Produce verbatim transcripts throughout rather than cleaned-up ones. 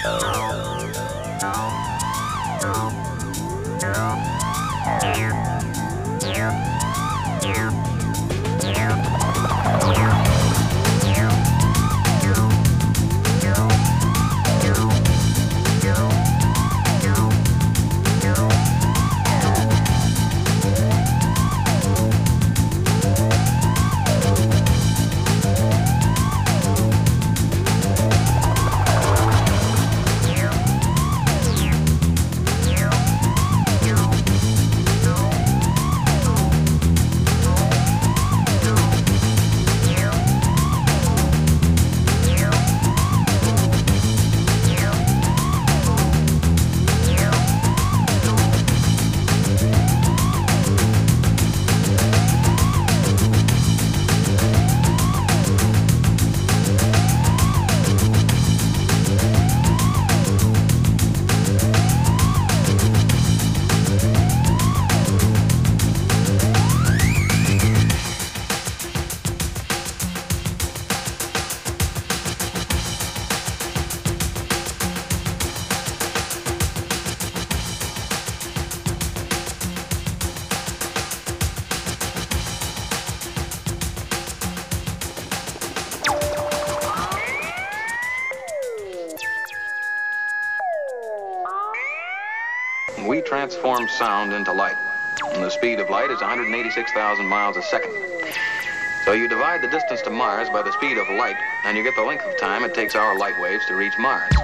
We transform sound into light, and the speed of light is one hundred eighty-six thousand miles a second. So you divide the distance to Mars by the speed of light, and you get the length of time it takes our light waves to reach Mars.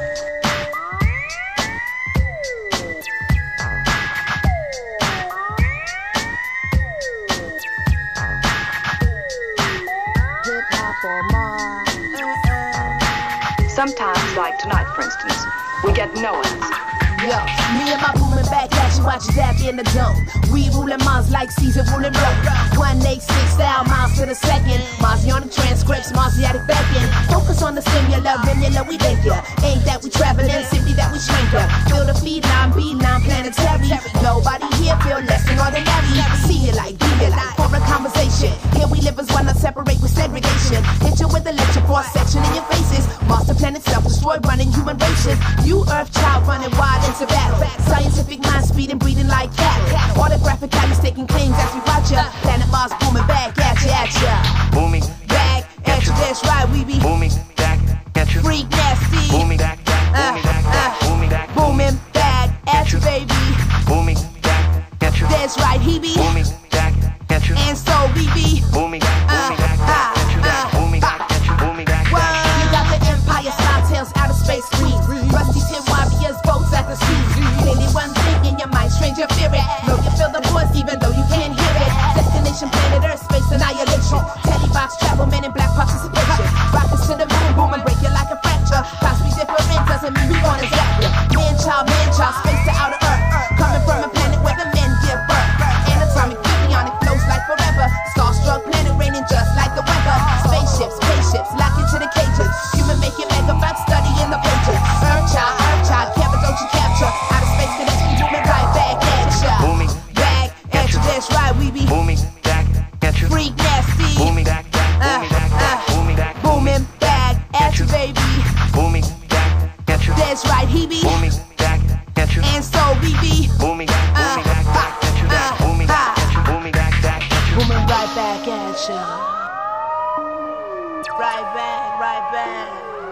Sometimes, like tonight, for instance, we get no answer. Yo, me and my booming back at you, watch you dab in the dome. We ruling Mars like Caesar ruling Rome. one eighty-six thousand miles to the second. Marzi on the transcripts, Marziatic backing. Focus on the similar, vanilla, we think ya. Ain't that we traveling, simply that we shrinker. Feel the feed line, beat line, planetary. Nobody here feel less than ordinary. See it like, be it like, for a conversation. Here we live as one, not separate with segregation. Hit you with electric force section in your faces. Master planet self-destroy, running human races. You earth child running wild into battle. Scientific mind speed and breathing like cattle. Autographic values taking claims as we watch ya. Planet Mars booming back at ya, at ya. Booming back at ya, that's right, we be booming back at ya. Freak nasty. Booming back, back, booming back, back, booming back, booming back at ya, baby. Booming back at ya. That's right, he be booming back at ya. And so we be booming back, booming back, back at ya. Booming back at ya, booming back, back. You got the Empire Star Tales outer space screen. Rusty tin warriors, boats at the sea. Clearly one thing in your mind, stranger spirit. Know you feel the voice even though you can't hear it. Destination planet Earth, space annihilation. Telebox travel, men in black participation. Rockets to the moon, boom and break you like a fracture. Class be different doesn't mean we gonna zap you. Man child, man child, space to outer Earth. Coming from a planet where the men give birth. Anatomic, bionic, flows like forever. Starstruck planet raining just like the weather. Spaceships, spaceships, lock into the cages. Human make it megabytes, study in the pages. Earth child, Earth child, Kevin, don't you capture. Outer space connection, booming right back at ya. Booming back at ya, that's right, we be booming back at ya. Freak nasty. Booming back, back, booming back, back, booming back, booming back at ya, baby. Booming back at ya. That's right, he be booming back at ya. And so we be booming back, booming back, back at ya. Booming back at ya, booming back, back at ya. Booming right back at ya. Right back, right back.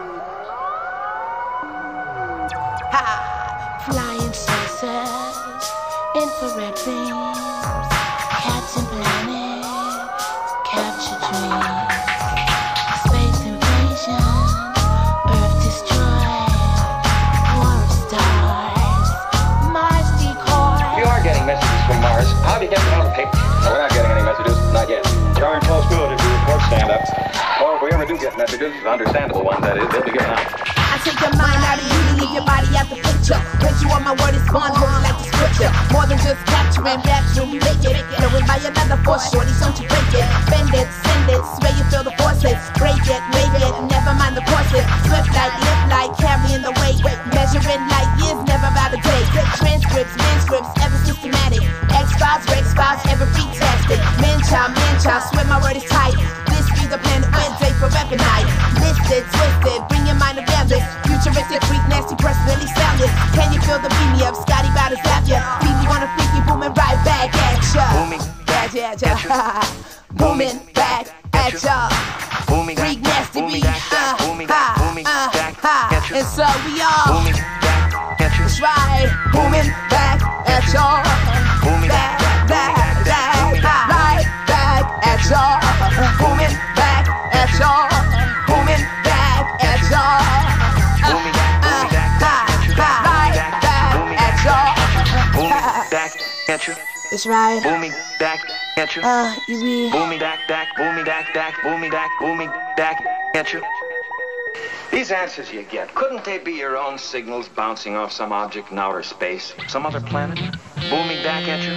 Ha! Flying saucers, infrared beams, cats and planets, capture dreams. Space invasion, Earth destroyed, war of stars, Mars decoy. We are getting messages from Mars. How have you get them on the paper? No, we're not getting any messages. Not yet. Darn close to it if your reports stand up. Or if we ever do get messages, understandable ones, that is, they'll be given out. I take your mind out of you to leave your body out the picture. Place you on my word is bond, holding like the scripture. More than just capturing, capturing, we make it. Knowing by another force, shorties, don't you break it. Bend it, send it, sway you feel the forces. Break it, make it, never mind the courses. Flip like, live like, carrying the weight. Measuring like years, never about a day. Transcripts, manuscripts, ever systematic. X-Files, Rex-Files, ever fantastic. Man child, man child, swear my word is tight. This be the planet where day forever night. Listed, twisted, bring your mind around this. Futuristic, freakness, nasty personally sounded. Can you feel the beat me up? Scotty bout to zap ya. Beat wanna freak you, booming right back at ya. Booming back yeah, at yeah, you. yeah. Booming back at ya. Booming Freak nasty booming beat. back, back, Uh, booming ha, back, booming uh, back ha. at you. And so we all. Booming back at you. That's right. Booming back at y'all. Booming Back, back, back, back, back, right back at y'all. Booming back at y'all. Booming back at y'all. Booming back, booming back, back at you. Right back Booming at y'all. Booming back at you. That's right. Booming back at you. Uh, you be. Booming back, back, booming back, back, booming back, booming back at you. These answers you get, couldn't they be your own signals bouncing off some object in outer space? Some other planet? Booming back at you.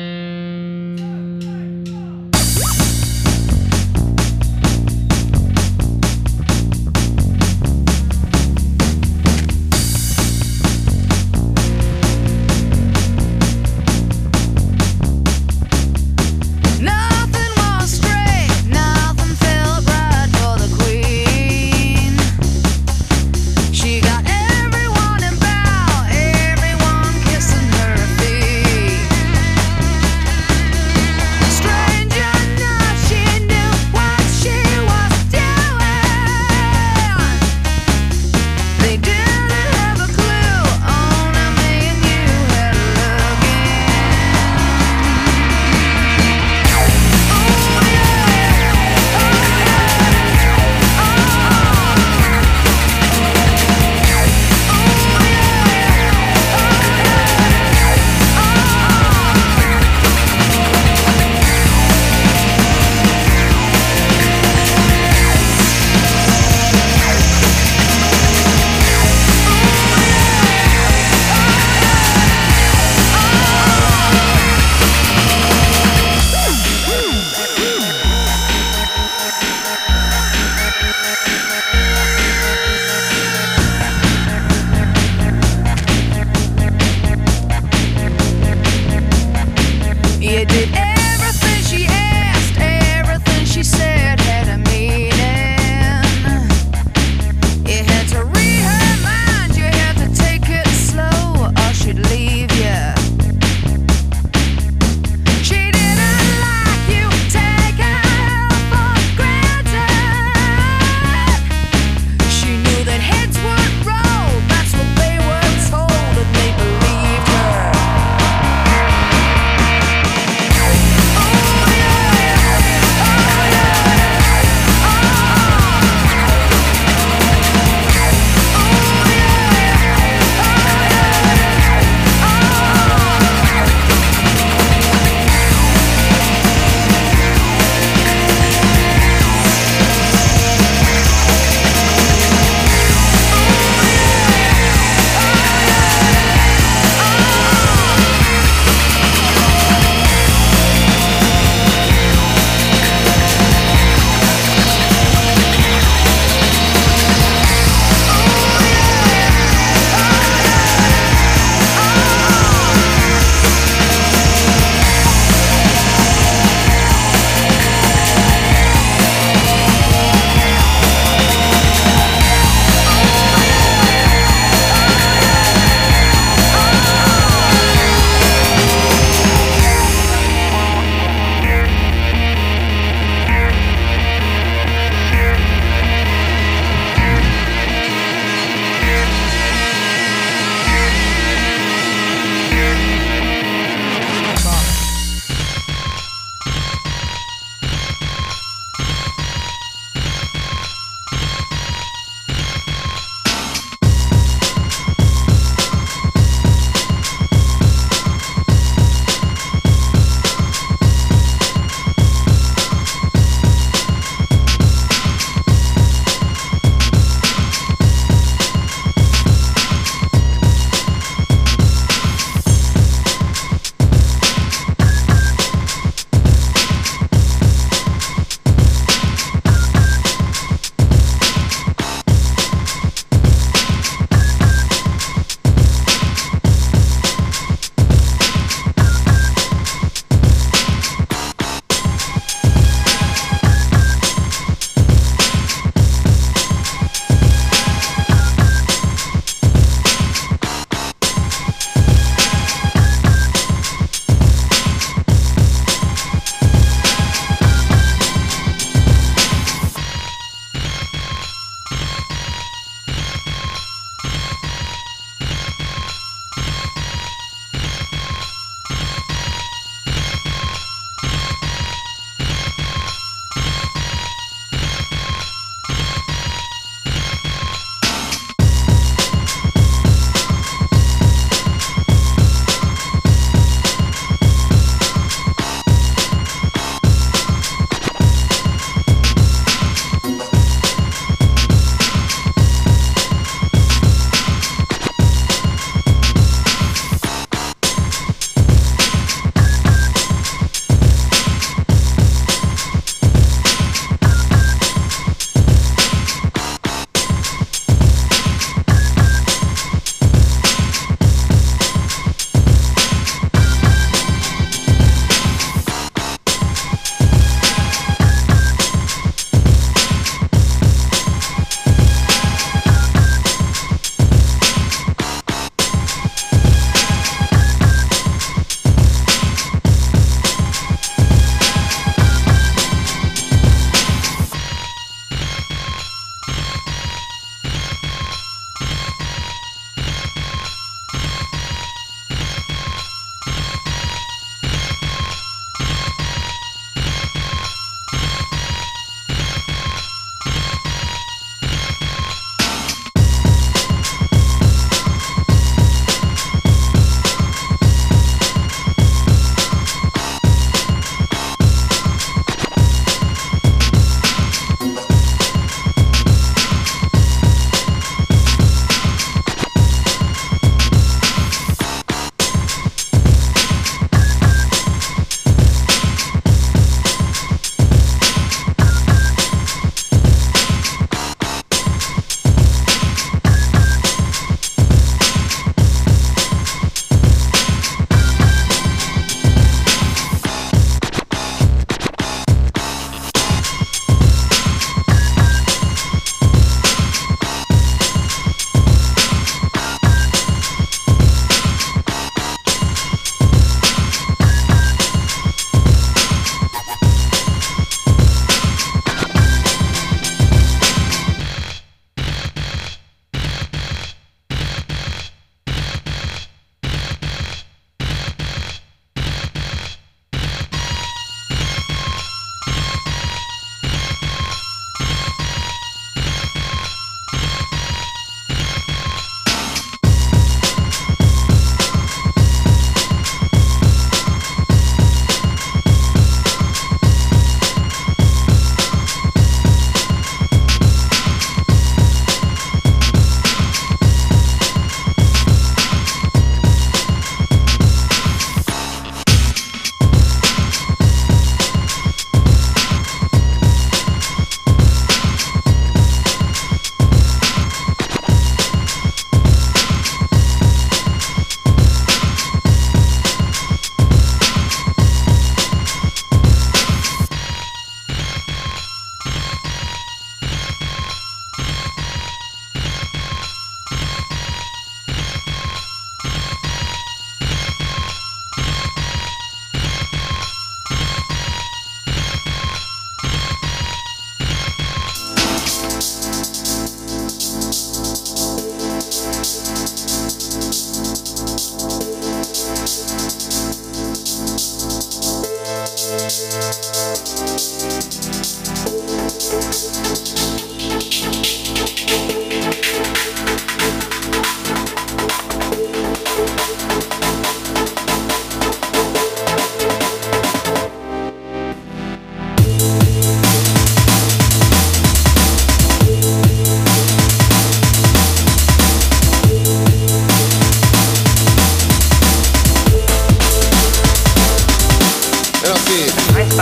Nothing was straight, nothing felt right for the queen. She got everyone in bow, everyone kissing her feet.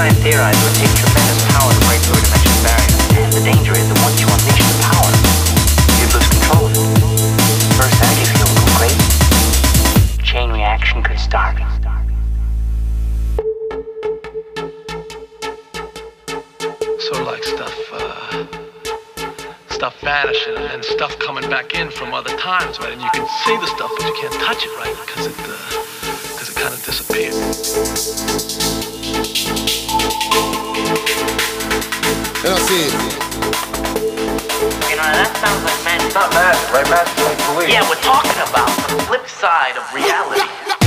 Einstein theorized it would take tremendous power to break through a dimension barrier, and the danger is that once you unleash the power, you'd lose control of it. First energy field would go crazy. Chain reaction could start. Sort of like stuff, uh, stuff vanishing and then stuff coming back in from other times, right? And you can see the stuff, but you can't touch it, right? Because it, because uh, it kind of disappeared. I don't see it. You know, that sounds like magic. It's not magic, right? Magic's like belief. Yeah, we're talking about the flip side of reality.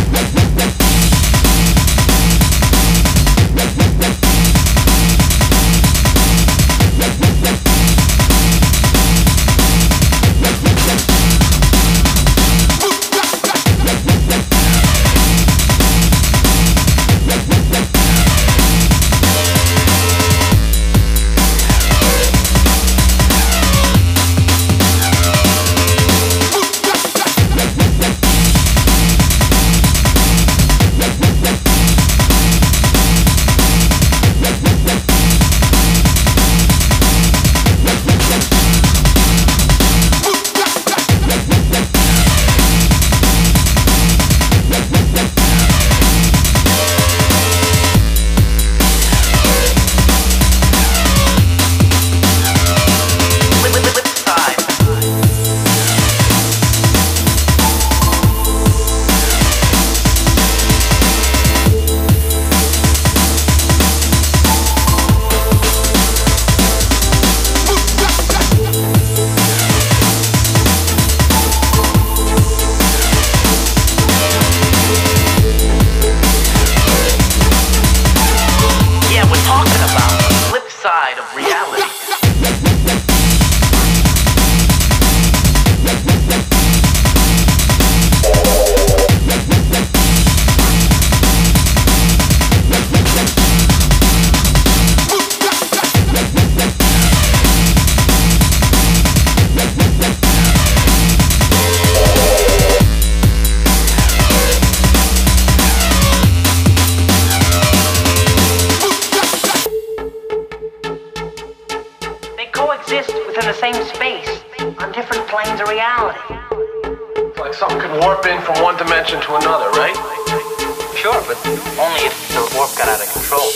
From one dimension to another, right? Sure, but only if the warp got out of control.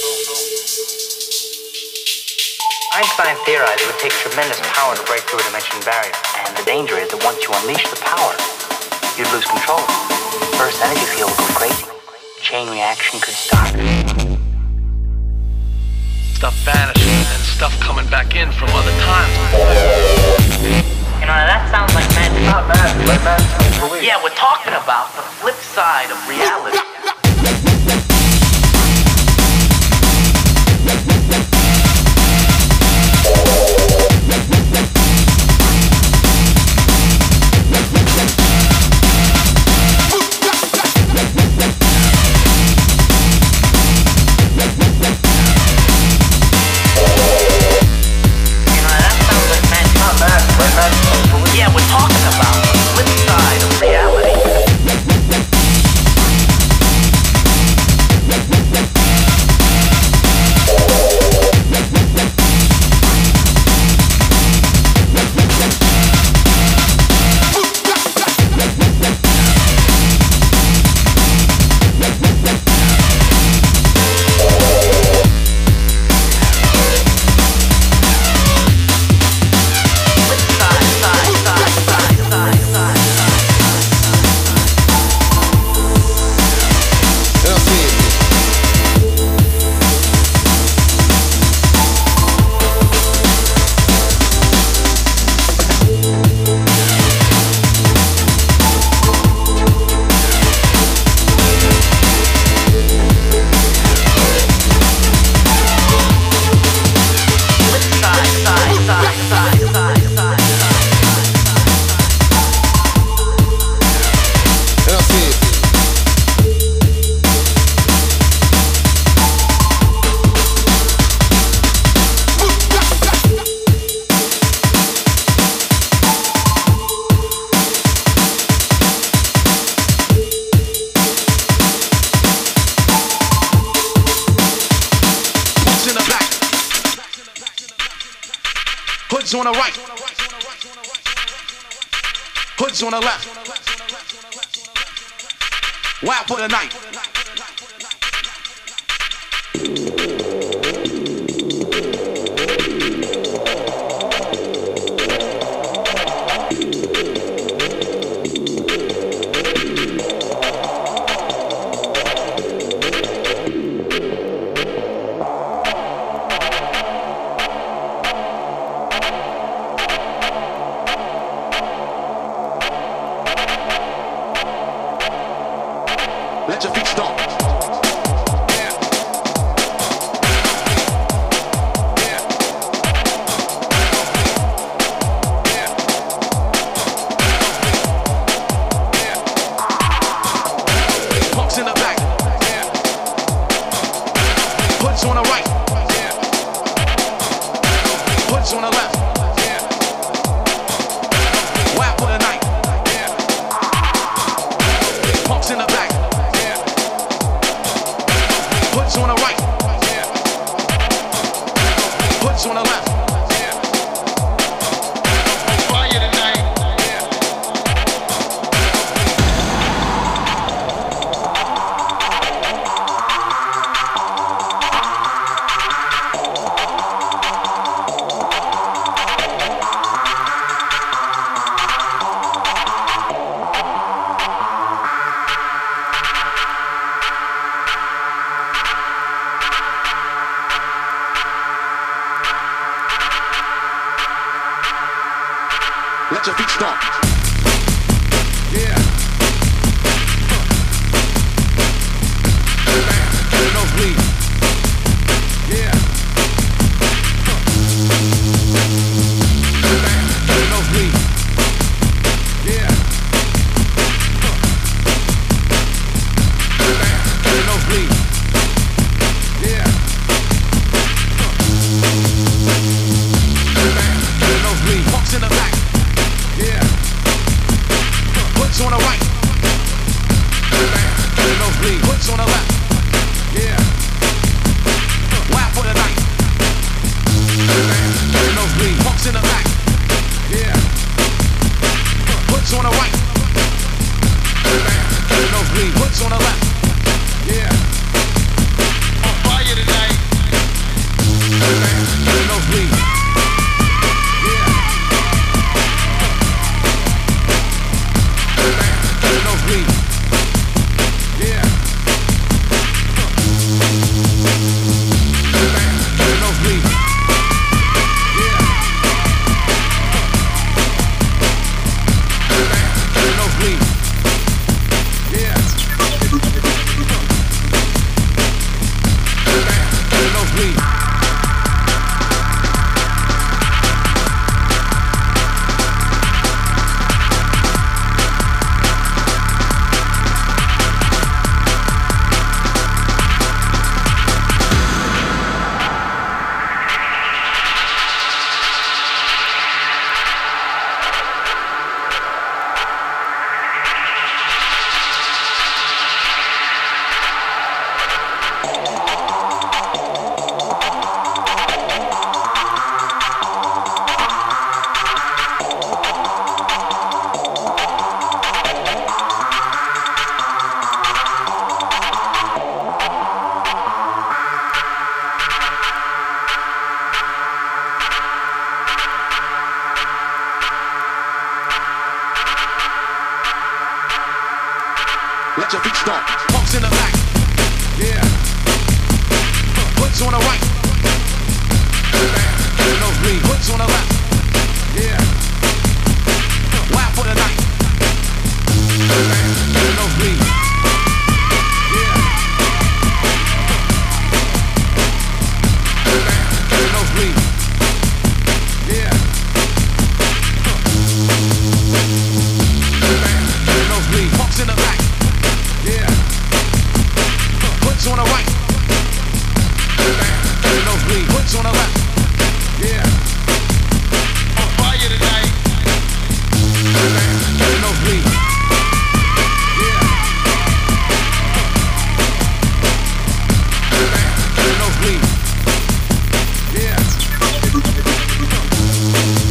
Einstein theorized it would take tremendous power to break through a dimension barrier, and the danger is that once you unleash the power, you'd lose control. First energy field would go crazy. Chain reaction could start. Stuff vanishing and stuff coming back in from other times. You know, that sounds like magic. It's not magic, right? Magic's like belief. Yeah, we're talking about the flip side of reality. Yeah, we're talking about the flip side of reality. Hoods on the right. Hoods on the left. Wild for the night. Let your feet stomp. Yeah. Yeah. Yeah. Yeah. Punks in the back. Yeah. Hoods on the right. Yeah. Hoods on the left. Yeah. Wild for the night. Yeah. Punks in the back. Hoods on the right, yeah. Hoods on the left, yeah. On fire tonight, yeah. Let your feet stomp. Yeah. No bleed. Yeah. No bleed. Yeah. No bleed. Yeah. No bleed. Punks in the back. Yeah. Hoods on the right. No bleed. Hoods on the left. Yeah. Wild for the night. No bleed. Punks in the back. Yeah. Hoods on the right. No bleed. Hoods on the left. Yeah. On fire tonight. No bleed. No bleed. Yeah. No bleed. Yeah. No bleed. Yeah. No bleed. Let your feet stomp. Punks in the back. Yeah. Hoods on the right. No bleed. Hoods on the left. Yeah. Wild for the night. No bleed. Yeah. No bleed. Yeah. No bleed. Punks in the back. Yeah. Hoods on the right. No bleed. Hoods on the left. Yeah. On fire tonight. No bleed. Yeah. No bleed. Yeah.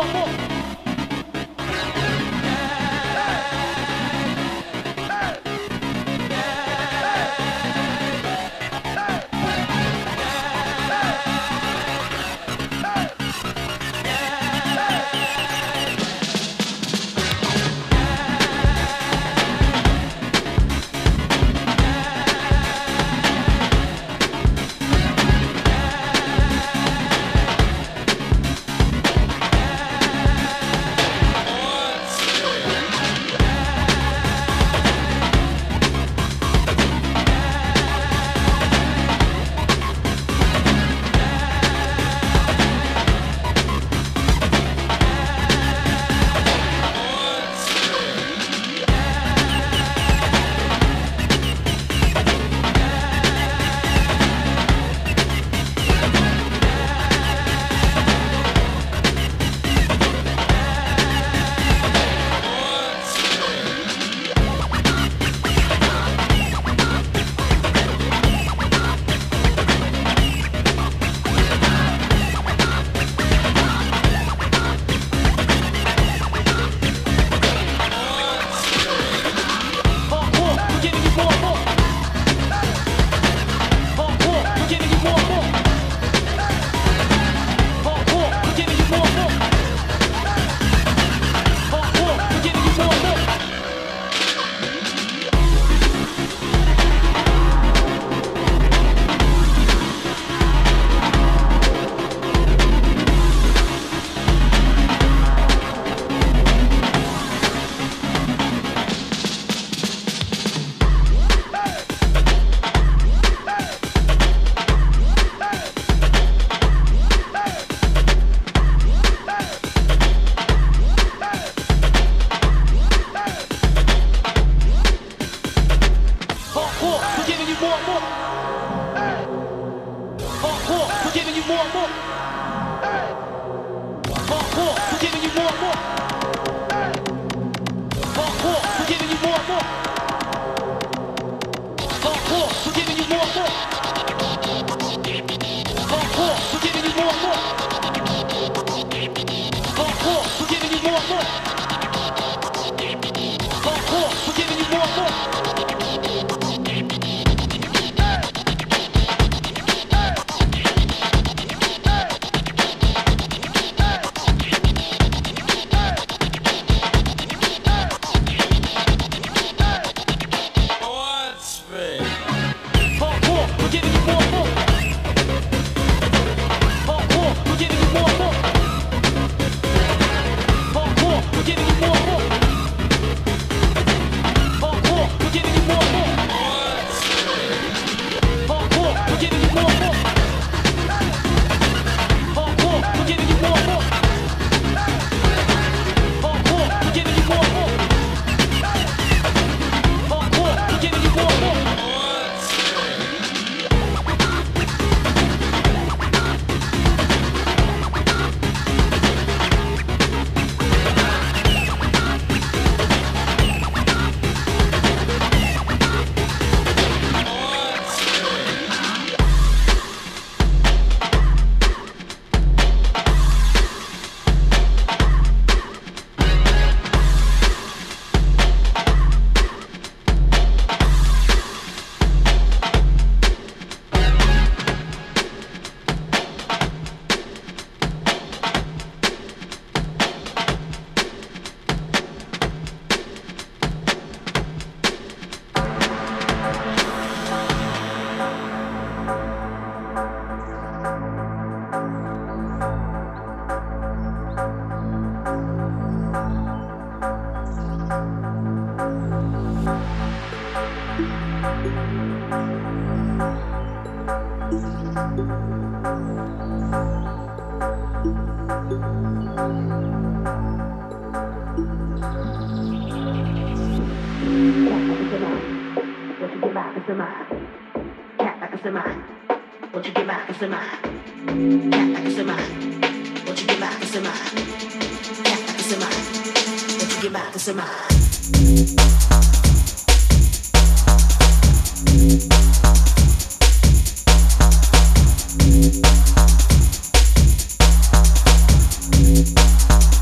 Thank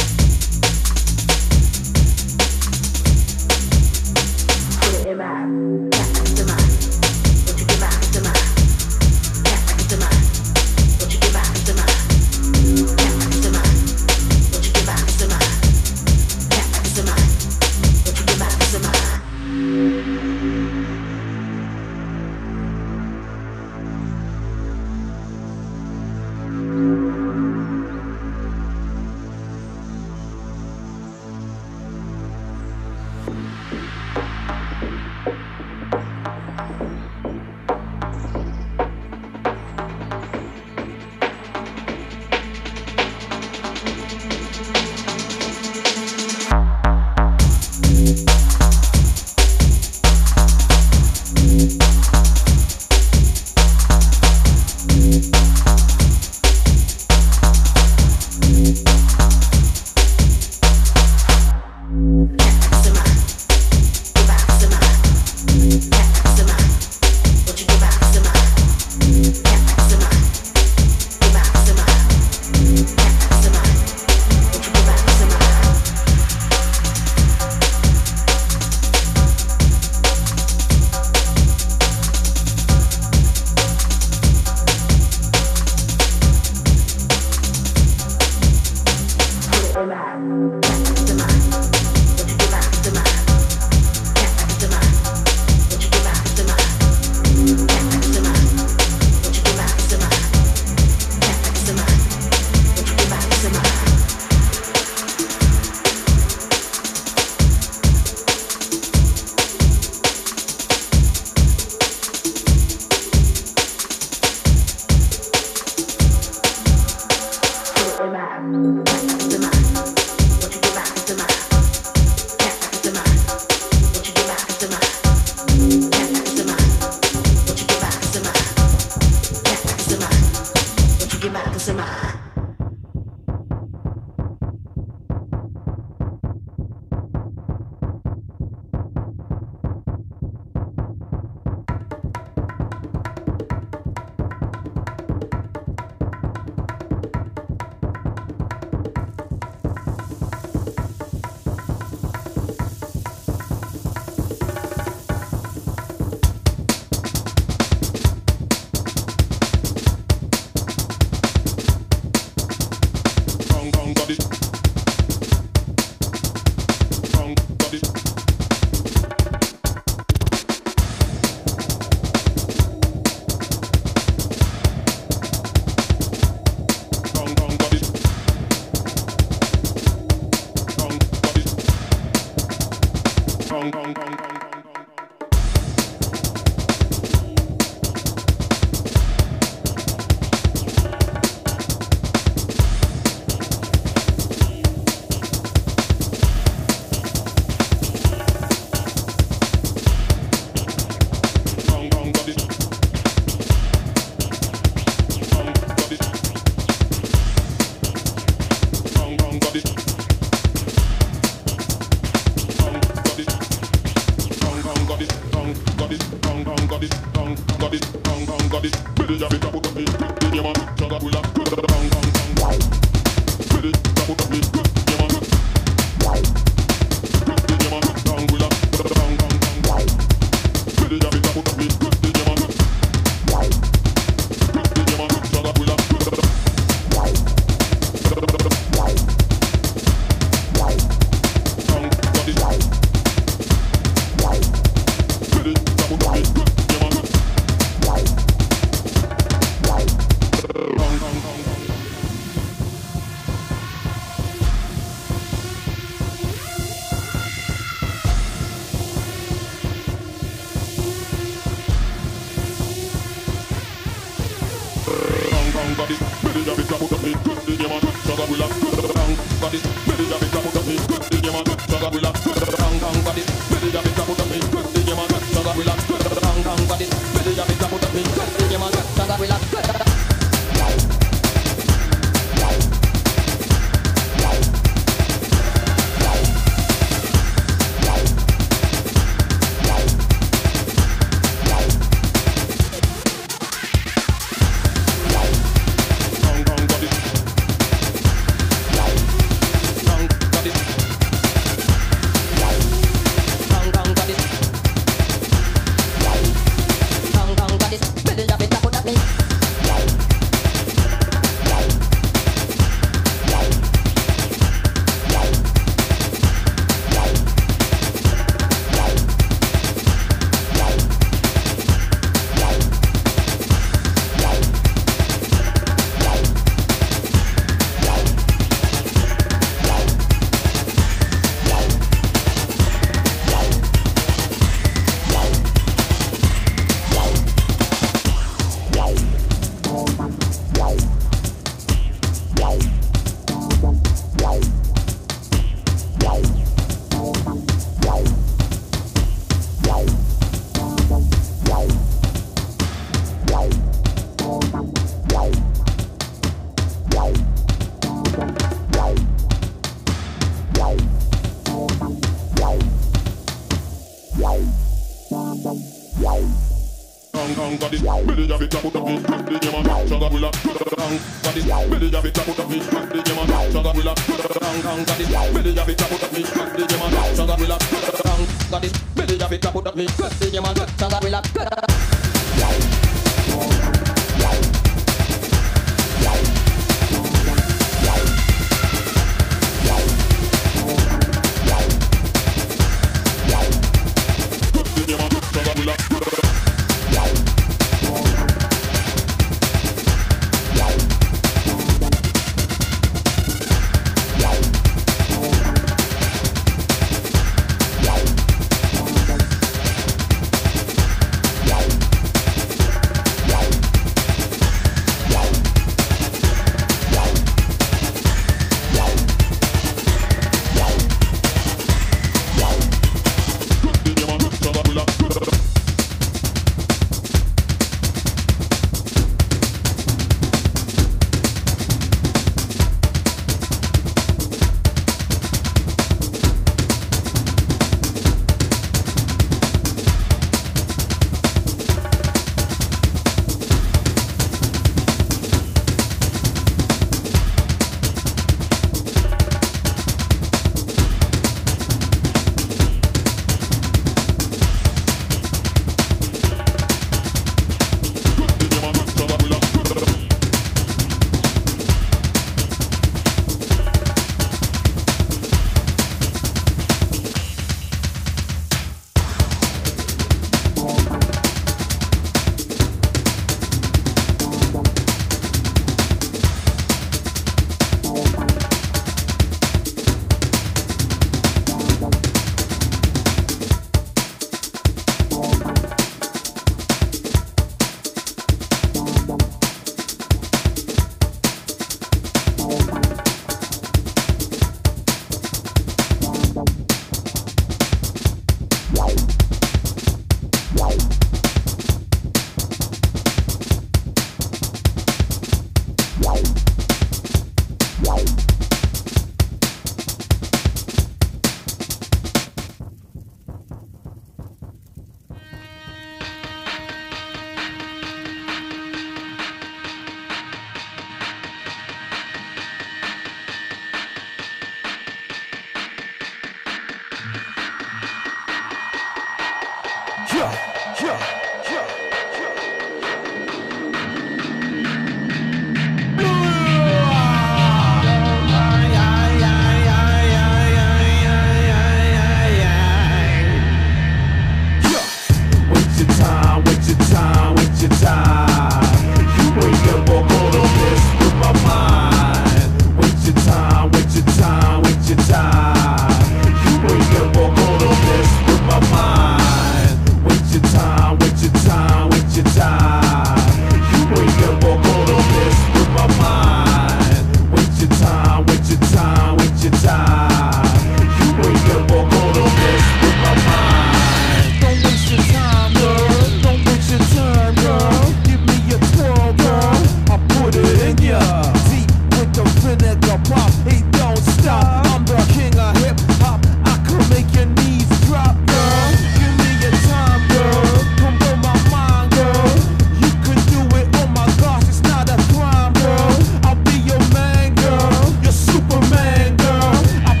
your time. You ain't never gonna mess with my mind. Don't waste your time, girl. Don't waste your time, girl. Give me your twirl, girl. I put it in ya. Deep with the vinegar pop. It don't stop. I'm the king of hip hop. I can make your knees drop, girl. Give me your time, girl. Come blow my mind, girl. You can do it. Oh my gosh, it's not a crime, girl. I'll be your man, girl. Your Superman, girl. I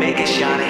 make it shiny.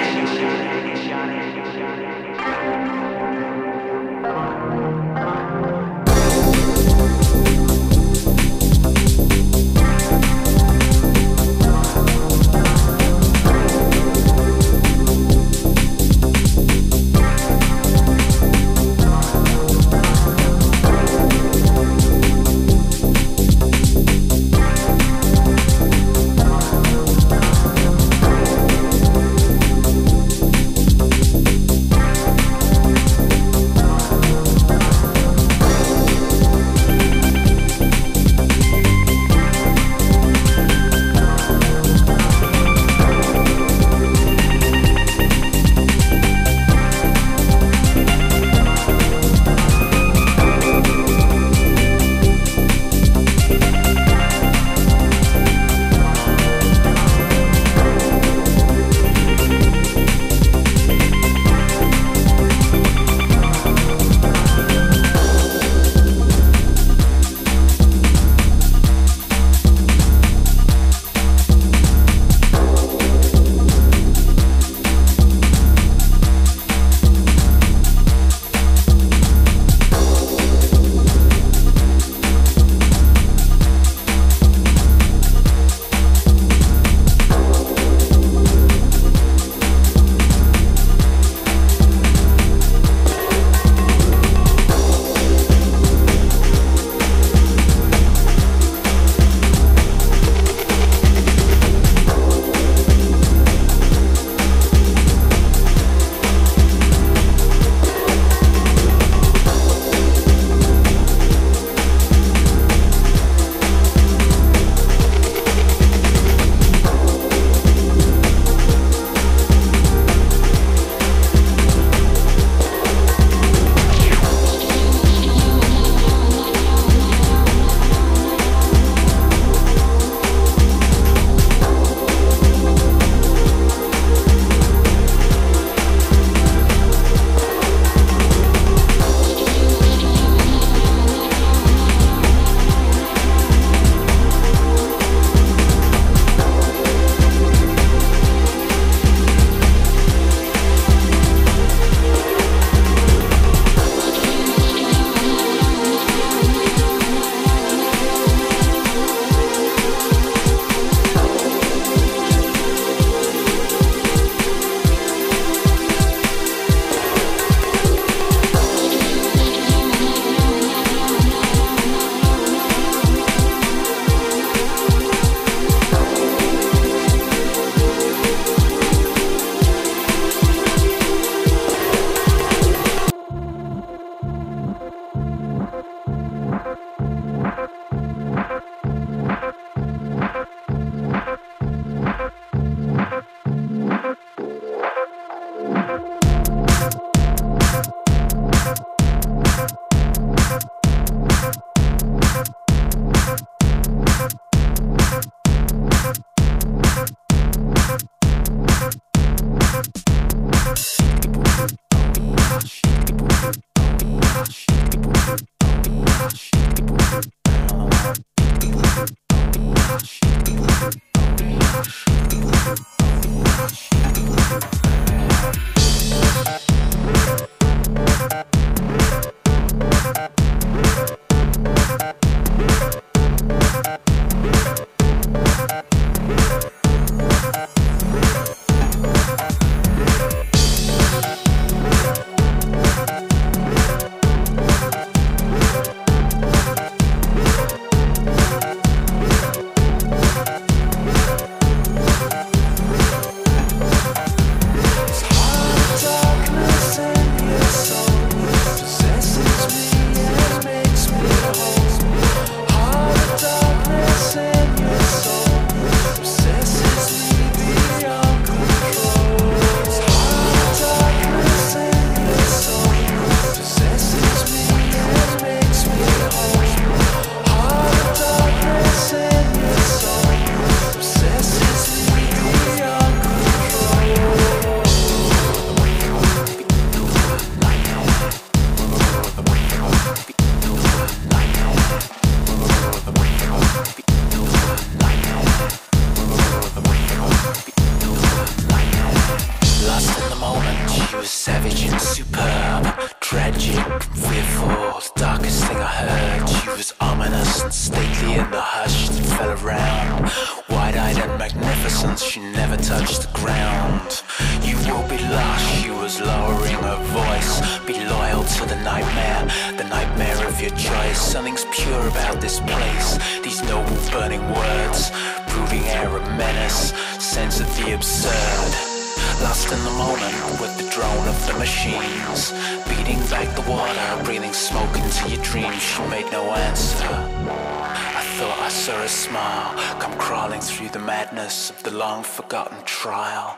was savage and superb, tragic, fearful, the darkest thing I heard. She was ominous and stately in the hush that fell around. Wide-eyed and magnificent, she never touched the ground. You will be lost, she was lowering her voice. Be loyal to the nightmare, the nightmare of your choice. Something's pure about this place, these noble burning words. Brooding air of menace, sense of the absurd. Lost in the moment with the drone of the machines, beating back the water, breathing smoke into your dreams. She made no answer. I thought I saw a smile come crawling through the madness of the long forgotten trial.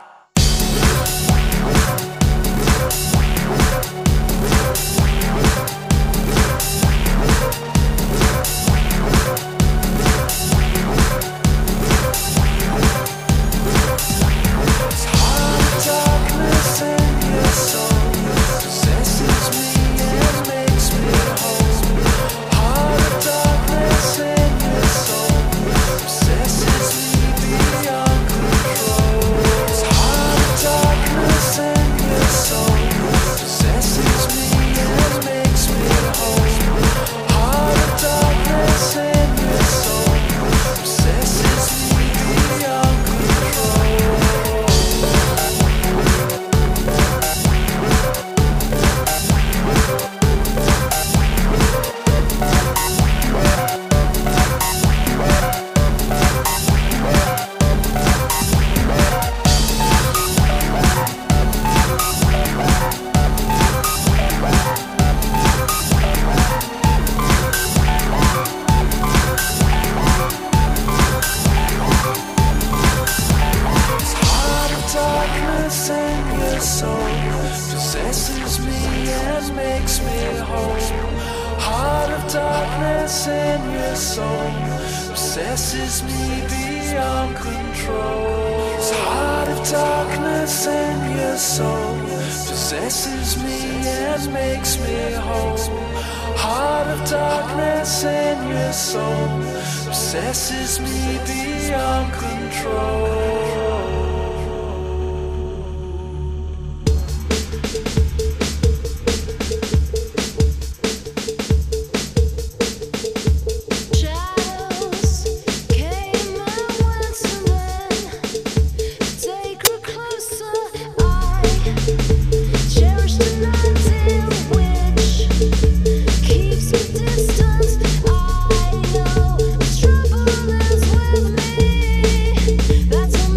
Darkness in your soul possesses me and makes me whole. Heart of darkness in your soul possesses me beyond control. Heart of darkness in your soul possesses me and makes me whole. Heart of darkness in your soul possesses me beyond control. Possesses me beyond control. This heart of darkness in your soul possesses me and makes me whole. Heart of darkness in your soul possesses me beyond control. That's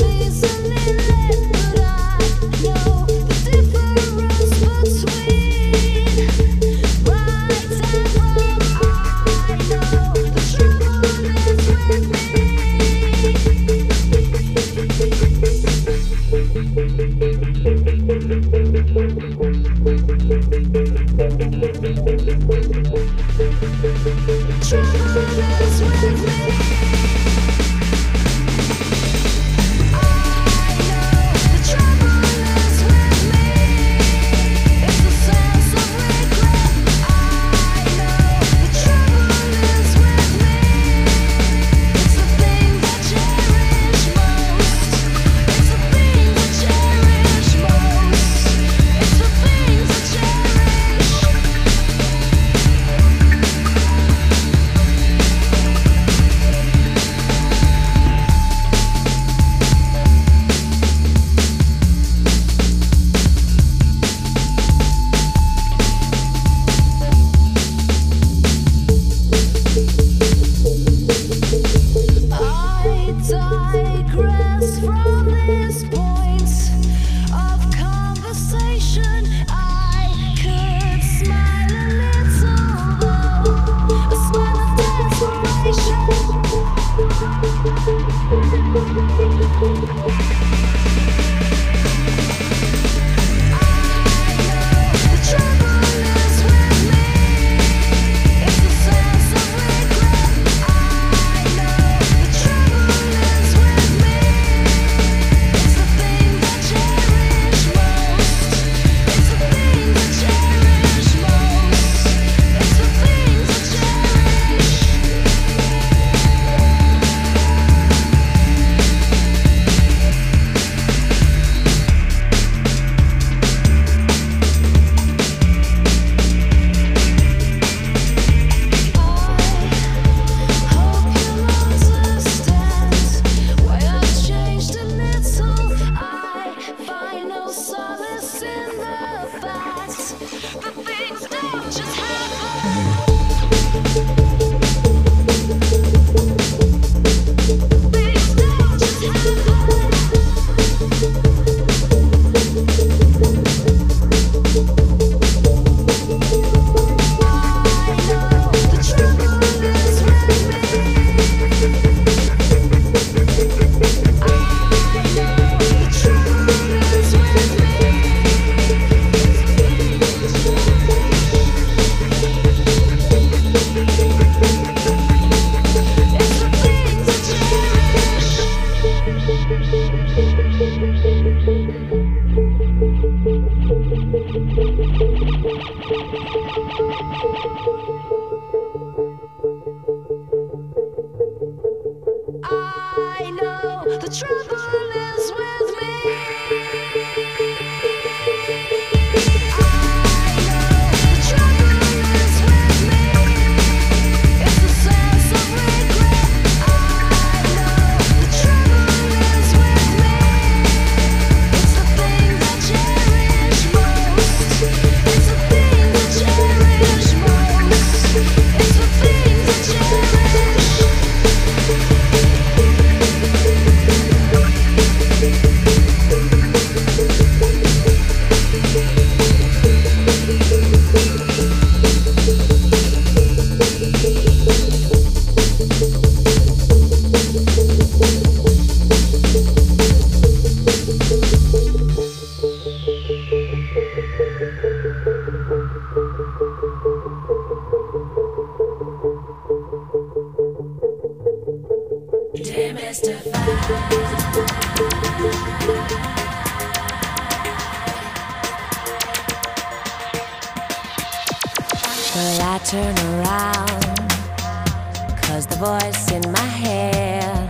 turn around, 'cause the voice in my head,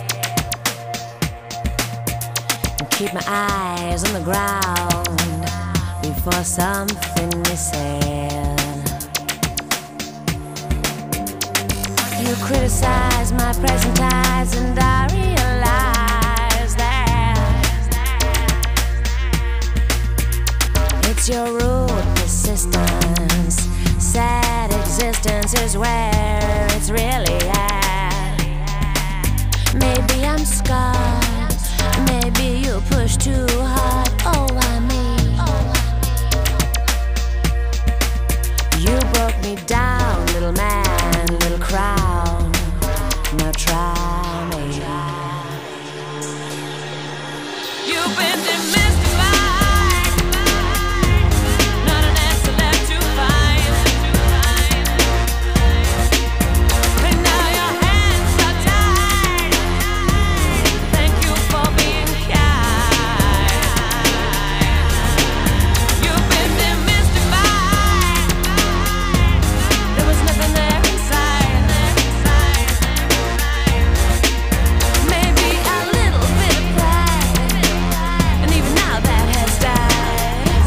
and keep my eyes on the ground before something is said. You criticize my present eyes, and I realize that it's your rude persistence. Sad existence is where it's really at. Maybe I'm scarred, maybe you push too hard. Oh, I mean, you broke me down, little man, little crown. Now try me. You've been demystified, not an answer left to find. And now your hands are tied. Thank you for being kind. You've been demystified. There was nothing there inside. Maybe a little bit of pride, and even now that has died.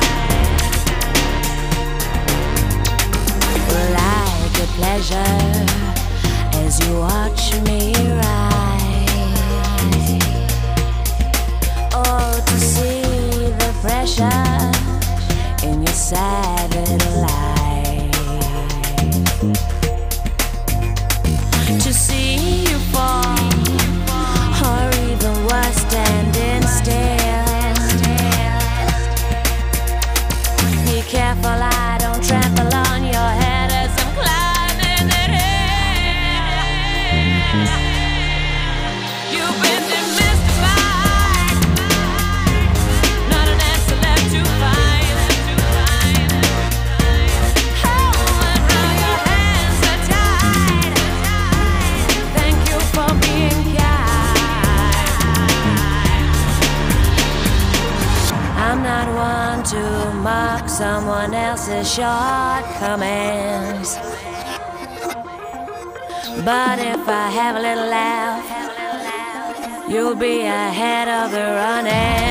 Like a pleasure as you watch me rise. Oh, to see the pressure in your sad little life, to see you fall, or even worse, standing still. Be careful I don't trample on your head as I'm climbing it in. You've been demystified, not an answer left to find. Oh, and now your hands are tied. Thank you for being kind. I'm not one to mock someone else's shortcomings, but if I have a little laugh, you'll be ahead of the running.